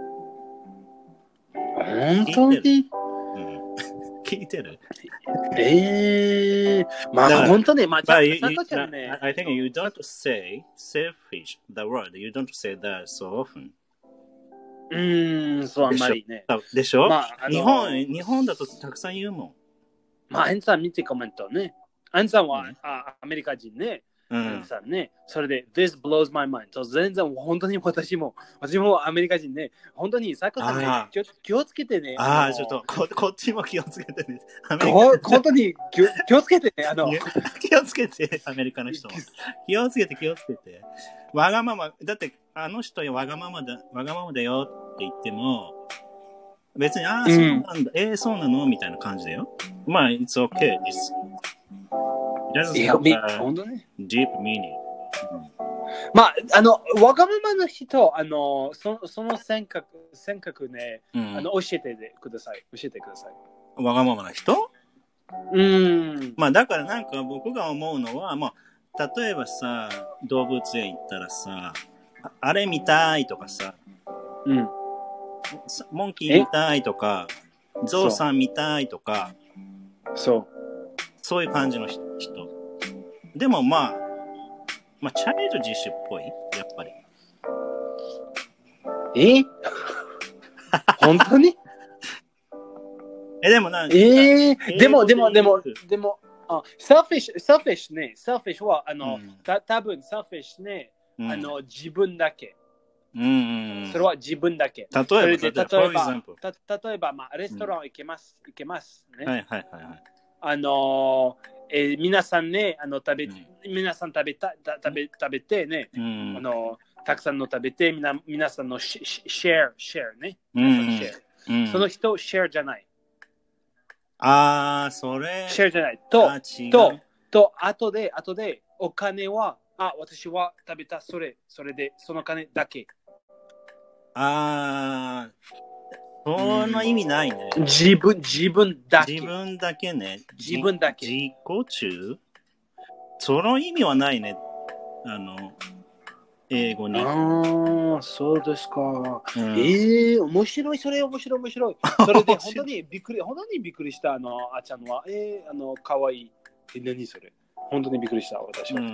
本当に？ 聞いてる？ ええー、まあ本当に、まあ、 ちゃんとね。I think you don't say selfish, the word. You don't say that so often. うーん、そうあんまりね。 でしょ？まあ、日本、日本だとたくさん言うもん。 まあ、アンさん見てコメントね。アンさんは、うん、あアメリカ人ね。うん、アンさんね。それで、This blows my mind. そう全然、本当に私も、私もアメリカ人ね。本当に、サコさんね、気を、気をつけてね。 ああ、ちょっとこ、こっちも気をつけてね。 本当に気を、気をつけてね。あの気をつけて、アメリカの人も。気をつけて、気をつけて。わがまま、だって、あの人わがままだ、わがままだよって言っても、別に、ああ、そうなんだ、うん、えー、そうなのみたいな感じだよ。まあ、it's okay. It's, いや、本当ね。 deep meaning。 まあ、あの、わがままの人、あの、そ, その性格、性格ね、うん、あの、教えてください。教えてください。 わがままな人？ うん。 まあ、だからなんか僕が思うのは、まあ、例えばさ、動物園行ったらさ、あれ見たいとかさ、うん。モンキー見たいとか、ゾウさん見たいとか、 そう。 そういう感じの人。でもまあ、まあ、チャイルド自主っぽい、やっぱり。 え本当にえ、でもな、 えー、でも、でも、でも、でも、 あ、selfish、selfish ね。selfish は、あの、 うん、 た多分 selfish ね、うん、あの、自分だけ。 うんうん、 それは自分だけ。 例えば、 例えば、 例えば、 た例えばまあ、レストラン行けます。うん、行けますね。 はいはいはいはい。 あのえー、皆さんね、あの食べ、うん、皆さん食べた食べ食べてね、うん、あのたくさんの食べて、みな皆さんのシェア、シェアね。皆さんシェア。うん、その人、シェアじゃない。 ああ、それ。 シェアじゃない。と、と、と、後で、後で、お金は、あ、私は食べた、それ、それで、その金だけ。 ああ、その意味ないね。 自分、自分だけ。 自分だけね。 自分だけ。 自己中その意味はないね。あの、英語に。 ああ、そうですか。うん、ええー、面白い、それ面白い、面白い。それで本当にびっくり、本当にびっくりした、あの、あちゃんは。えー、あの、かわいい。え、何それ。本当にびっくりした、私は。うん。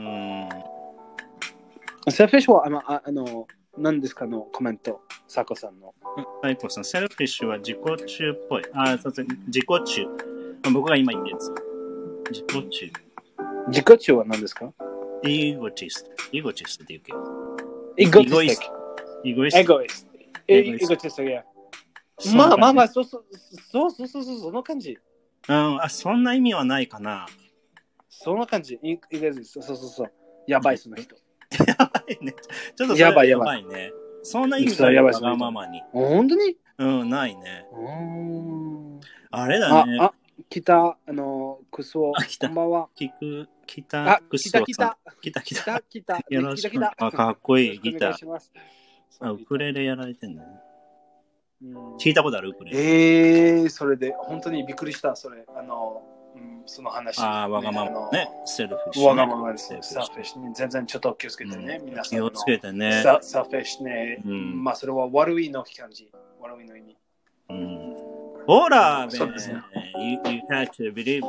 セルフィッシュは、あの、ああの何ですかのコメント、サコさんの。 サコさん、セルフィッシュは自己中っぽい。あ、そうですね。自己中。僕が今言ったやつ。自己中。 自己中は何ですか？ イゴチスト。イゴチストって言うけど。 イゴチスト。 イゴイスト。 エゴイスト。イゴチスト、いや。まあまあまあ、そうそうそうそうそうそう、その感じ。 うん、あ、そんな意味はないかな。 そんな感じ。イゴイスト。そうそうそう。やばい、その人。 やばいね。ちょっとそれやばいやばいね。そんな意味ないわがままに。 本当に？ うん、ないね。あれだね。 あ、あ、来た、あの、クソ。 あ、来た。 こんばんは。 聞く、来た、クソ。 来た、来た。 来た、来た。 来た、 よろしく。あ、かっこいい、ギター。あ、ウクレレやられてんだね。聞いたことあるウクレレ。 えー、それで、本当にびっくりした、それ。あの、うん、その話。 ああ、わがままね。セルフィッシュ。 わがままです。セルフィッシュ。全然ちょっと気をつけてね、皆さん。 気をつけてね。 セルフィッシュね。まあ、それは悪いの感じ。悪いの意味。 うん。ほら、そうですね。You, you had to believe.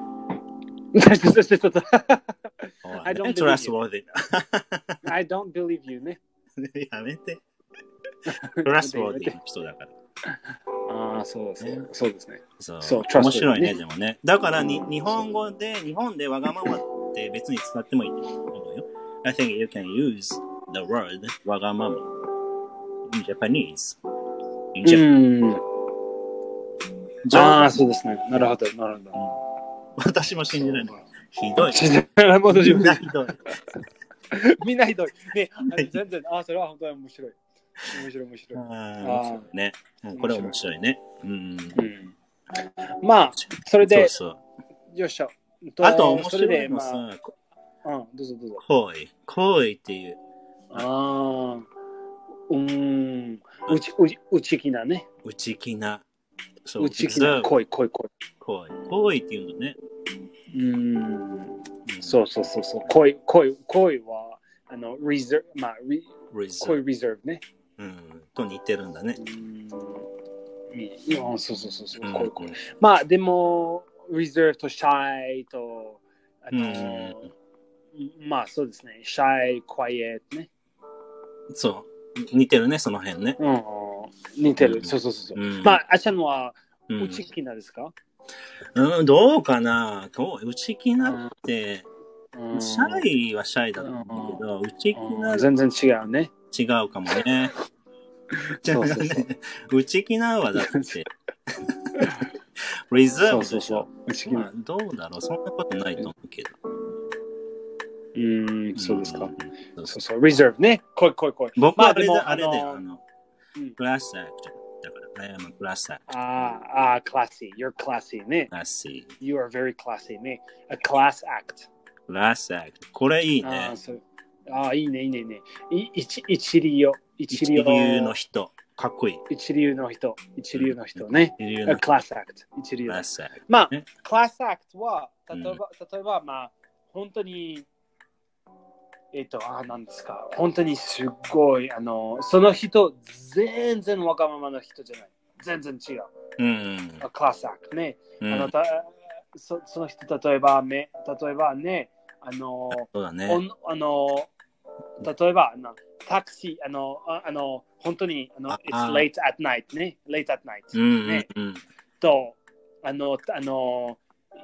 I don't believe you. I don't believe you ね。 やめて。trustworthy の人だから。 ああ、そうですね。そうですね。 そう。そう面白いね、でもね。だからに、日本語で、日本でわがままって別に使ってもいいと思うよ。I think you can use the word わがまま in Japanese. In Japan. ああ、そうですね。なるほど、なるほど。 私も信じないの。ひどい。 みんなひどい。みんなひどい。ね、全然、ああ、それは本当に面白い。面白い、面白い。 ああ、ね。これ面白いね。うん。 まあ、それで、 そうそうよっしゃ。 あと、面白いのさ、 うん、どうぞどうぞ。 行為。行為っていう。 ああ、うん、うち、うち、うちきなね。 うちきな。そう、 うちきな。恋、恋、恋。 恋。恋っていうのね。 うん。そうそうそうそう。恋、恋、恋は、あの、reserve、まあ、リ恋 reserve ね。 うん。と似てるんだね。 うん。いい。そうそうそうそう。恋、恋。まあ、でも、reserve と shy と、あの、まあ、そうですね。shy, quiet ね。 そう。似てるね、その辺ね。 うん。似てる。そうそうそう。まあ、あちゃんは、うちきなですか？ うん、どうかな。うちきなって、シャイはシャイだと思うけど、うちきな全然違うね。 違うかもね。そうそうそううちきなはだって、リザーブでしょ。まあ、どうだろう、そんなことないと思うけど。 うーん、そうですか。そうそう、リザーブね。来い来い来い。 僕はあれだ、あれだよ、あの、クラスアクト。だから、I am a class act. ああ、classy. You're classy ね。 classy. You are very classy ね。A class act. class act. これいいね。 ああ、いいね、いいね、いいね。一一流。 一流の人。かっこいい。 一流の人。一流の人ね。 一流の人。 A class act. 一流。 class act. まあ、class act は、例えば、例えば、まあ、本当に、えっと、あ、なんですか。本当にすごい、あの、その人、全然わがままな人じゃない。全然違う。 うん。 クラスアクトね。うん、あのたそその人、例えば、ね、例えばね、あの、 そうだね、 おあの例えば、あのタクシー、あの、ああの本当に、あの、It's late at night ね。late at night、 うんね。 うんうん、 と、あの、あの、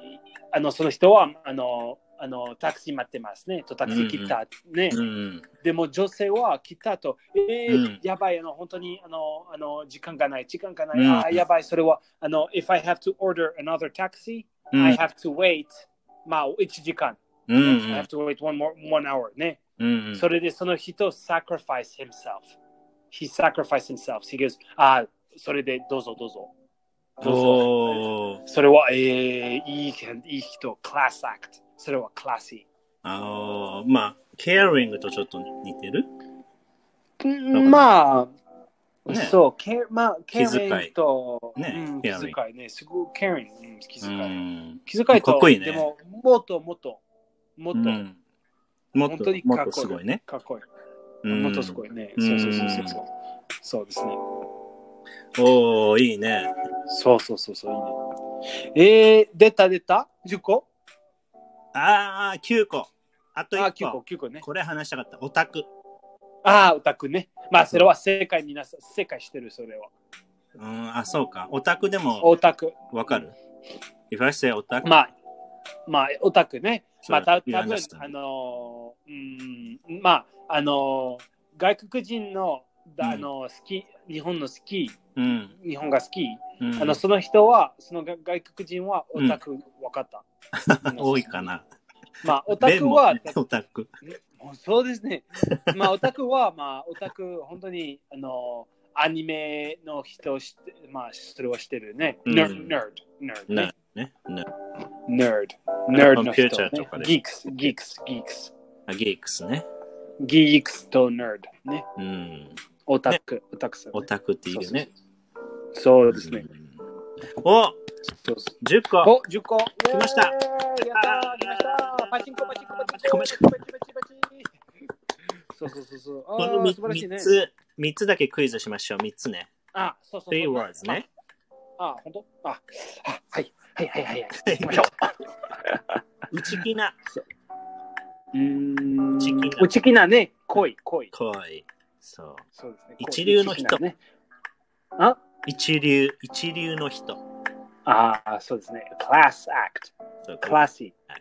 あのその人はあのあのタクシー待ってますね。とタクシー来たね。 うんうん、 でも女性は来たと、えーうん、 やばい、あの本当にあのあの時間がない、時間がない、 うん、 あやばい、それはあの if I have to order another taxi、うん、I have to wait まあいちじかん、うん、I have to wait one more one hour ね、うんうん、それでその人 sacrifice himself he sacrificed himself he goes あそれでどうぞどうぞどうぞそれは、えー、いいいい人クラスアクトそれはクラシーあまあケアリングとちょっと似てるまあ、ね、そう、ケまあ、 気遣いと、 ね、 うん、気遣いね、すごい、ケアリング、うん、気遣い。うん、気遣いと、 かっこいいね。 でも、もっともっと、もっと、うん、 もっと本当にかっこいい。 すごいね。 かっこいい。うん、もっとすごいね。そうそうそうそう。そうですね。 おー、いいね。 そうそうそうそう、いいね。えー、出た出た ?じゅっ 個あー、きゅうこ。あといっこ。 あ、きゅうこ、きゅうこね。 これ話したかった。オタク。 ああ、オタクね。まあ、それは正解になさ、正解してる、それは。 うん、あ、そうか。オタクでも。 オタク。 わかる ?If I say オタク。 まあ、まあ、オタクね。まあ、た多分あのー、うん、まあ、あのー、外国人の、あのー、好き、日本の好き、うん、日本が好き、うん、あの、その人は、その外国人はオタク、わかった。 多いかな。 まあ、オタクは、 ね、オタク。 そうですね。まあ、オタクは、まあ、オタク、本当に、あの、アニメの人して、まあ、それはしてるね。ネード、ネード、ね。 ね。 ネード、ネードの人、ね。ギークス、ギークス、ギークス。 あ、ギークスね。 ギークスとネード、ね。うん。オタク、ね、オタクさん、ね。 オタクっていうね。 そうですね。 おじゅっこ。 お、じゅっこ。 来ました。やったー、来ました。パチンコ、パチンコ、パチンコ、パチンコ、パチンコ、パチンコ、パチンコ。そうそうそうそう。 このみっつ、みっつだけクイズしましょう。みっつね。 あ、そうそうそう。 three words ね。 あ、ほんとあ、はい。はいはいはいはい。行きましょう。内気な。 うーん。内気なね。恋、恋。 恋。そう。 そうですね。 一流の人。 ね、あ一流、一流の人。 ああ、そうですね。クラスアクト。クラシー。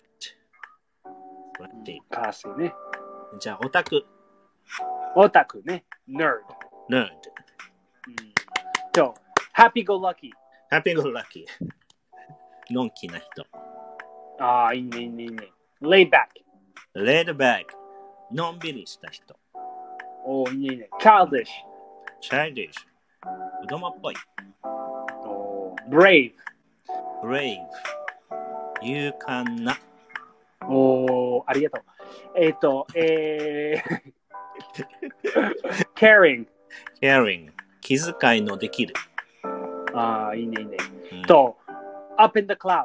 クラシーね。 じゃあ、オタク。 オタクね。ネード。 ネード。 と、ハッピーゴーラッキー。 ハッピーゴーラッキー。のんきな人。 ああ、いいね、いいね、いいね。レイバック。 レイドバック。のんびりした人。 おー、いいね、いいね。チャイルディッシュ。 チャイルディッシュ。子供っぽい。 おー、ブレイブ。ブレイブ。勇敢な。 おー、ありがとう。えっ、ー、と、えー、caring。 caring。気遣いのできる。 ああ、いいね、いいね。うん、と、up in the clouds。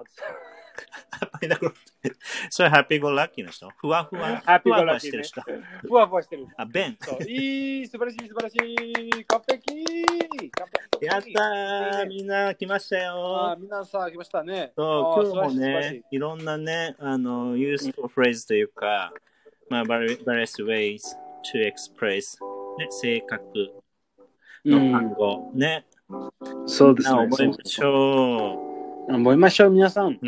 それハッピーゴーラッキーの人ふわふわ。 ハッピーゴーラッキーの人。 ふわふわしてる。 あ、ベン。 いい、素晴らしい、素晴らしい。完璧。 やったー。みんな来ましたよ。 あみんなさ、来ましたね。 そう、今日もね、いろんなね、あの、useful phrase というか、まあ、various ways to express、ね、性格の単語、うん、ね。 そうですね。 覚えましょう。覚えましょう、皆さん。 うん。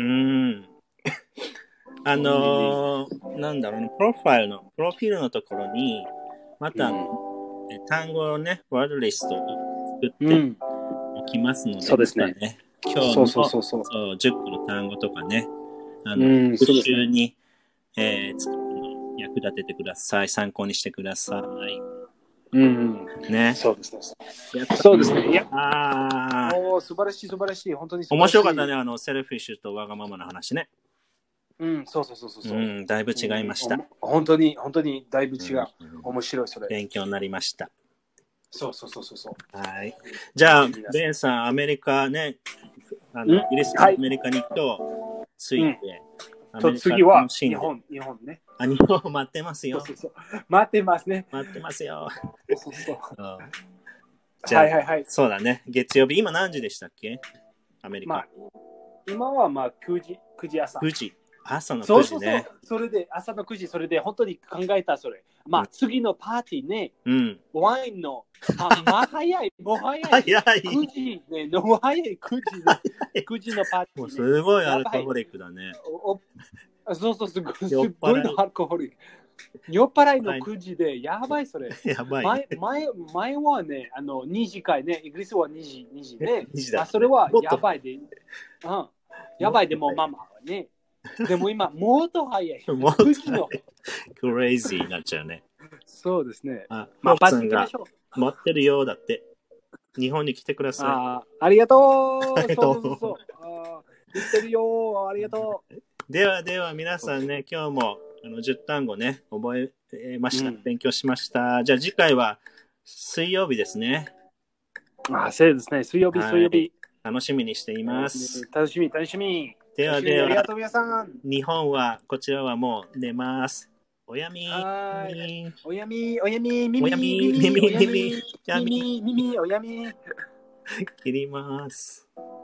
あのー、なんだろうね、プロファイルの、プロフィールのところに、また、うん、単語をね、ワードリストを作っておきますので、うん、 そうですね。 今日のそうそうそうそうじゅっこの単語とかね、あの、うん、復習に、ねえー、役立ててください。参考にしてください。 うん、 ね。 そうですね。そうですね。いや、 ああ。 おー、素晴らしい、素晴らしい。本当に素晴面らしい。 白かったね、あの、セルフィッシュとわがままの話ね。 うん、そうそうそうそう。 うん、だいぶ違いました。 うん、本当に、本当にだいぶ違う。うん、面白い、それ。 勉強になりました。 そうそうそうそう。 はい。じゃあ、ベンさん、アメリカね、あの、イギリスからアメリカに今日着いて、 うん、と次は日本、日本ね。 あ、日本待ってますよ。 そうそうそう待ってますね。 待ってますよ。 そうそうそう。 うん、じゃあ、はいはいはい。そうだね。月曜日、今何時でしたっけアメリカ。まあ、 今はまあくじ、くじ朝。 くじ。 朝のそうくじね。 そうそう。それで、朝のくじ、それで本当に考えた、それ。まあ、次のパーティーね、 うん。 ワインの、あ、まあ、早い、もう早い。 早い。 くじね、もう早い、くじね。くじのパーティー、ね。 もうすごいアルコホリックだね。 おおそうそう、すごい、すごいのアルコホリック。酔っ払いのくじで、やばいそれ。 やばい、ね、 前前前はね、あのにじかいね、イギリスはにじ、にじね。 にじだ、ね、 あそれはやばいで。うん。やばいでもママはね。でも今、もっと早い。 もっと早い。クレイジーになっちゃうね。 そうですね。 あ、まあ、パッツンが待ってるようだって。日本に来てください。 あありがとう。ありがとう。そうそうそう。あ言ってるよ。ありがとう。 ではでは皆さんね、今日もあのじゅう単語ね、覚えました、うん。勉強しました。じゃあ次回は水曜日ですね。 あ、そうですね。水曜日、水曜日。 楽しみにしています。 楽しみ、楽しみ。 ではでは、 ありがとう皆さん。 日本は、こちらはもう寝ます。おやみー。おやみ、おやみ、みみ、 おやみ、みみ、みみ、 みみ、みみ、おやみ。 切ります。